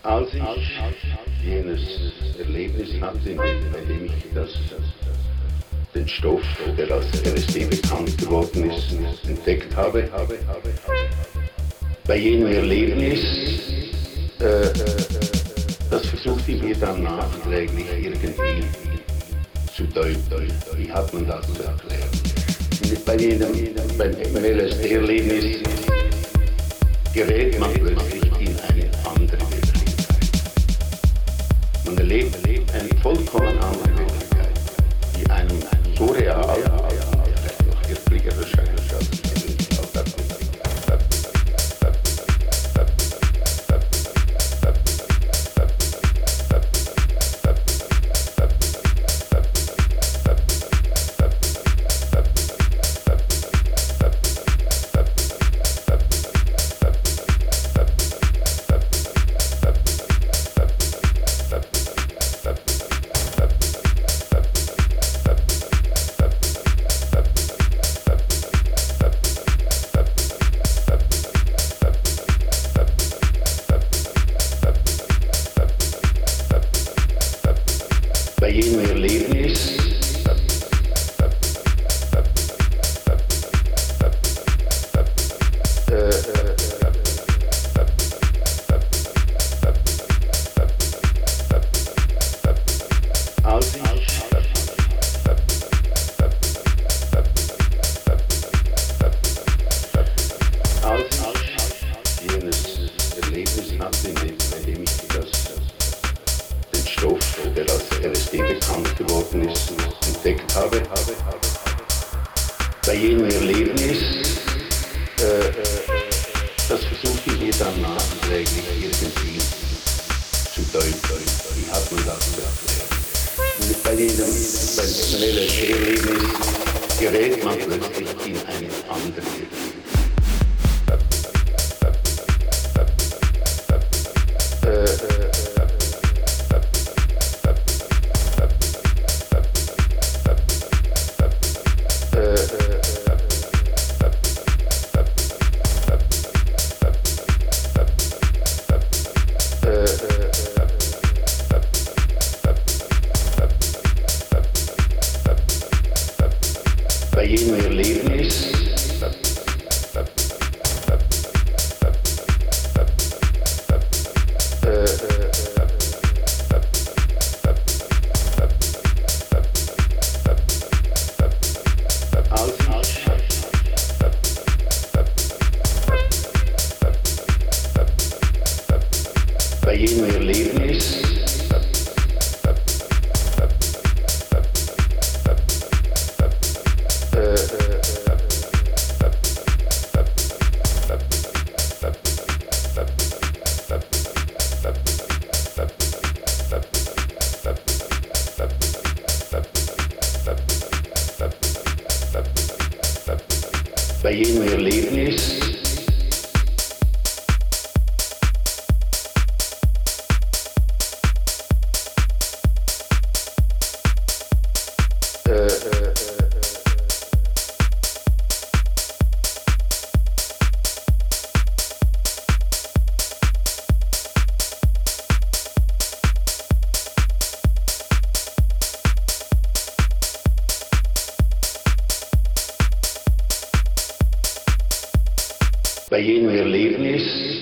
Als ich jenes Erlebnis hatte, bei dem ich den Stoff, der als LSD bekannt geworden ist, entdeckt habe, bei jenem Erlebnis, das versuchte ich mir dann nachträglich irgendwie zu deuten. Wie hat man das zu erklären? Beim LSD-Erlebnis gerät man plötzlich in eine andere Wirklichkeit. Man erlebt eine vollkommen andere Wirklichkeit, die einem so real, vielleicht noch wirklicher erscheint als bei jedem Erlebnis hatte, bei dem ich den Stoff, der als LSD bekannt geworden ist, entdeckt habe. Bei jenem Erlebnis, das versuche ich mir dann nachträglich irgendwie zu deuten. Wie hat man das zu erklären? Beim LSD-Erlebnis gerät man plötzlich in eine andere Wirklichkeit. Bei jedem Erlebnis bei jedem Erlebnis bei jedem Erlebnis bei jedem Erlebnis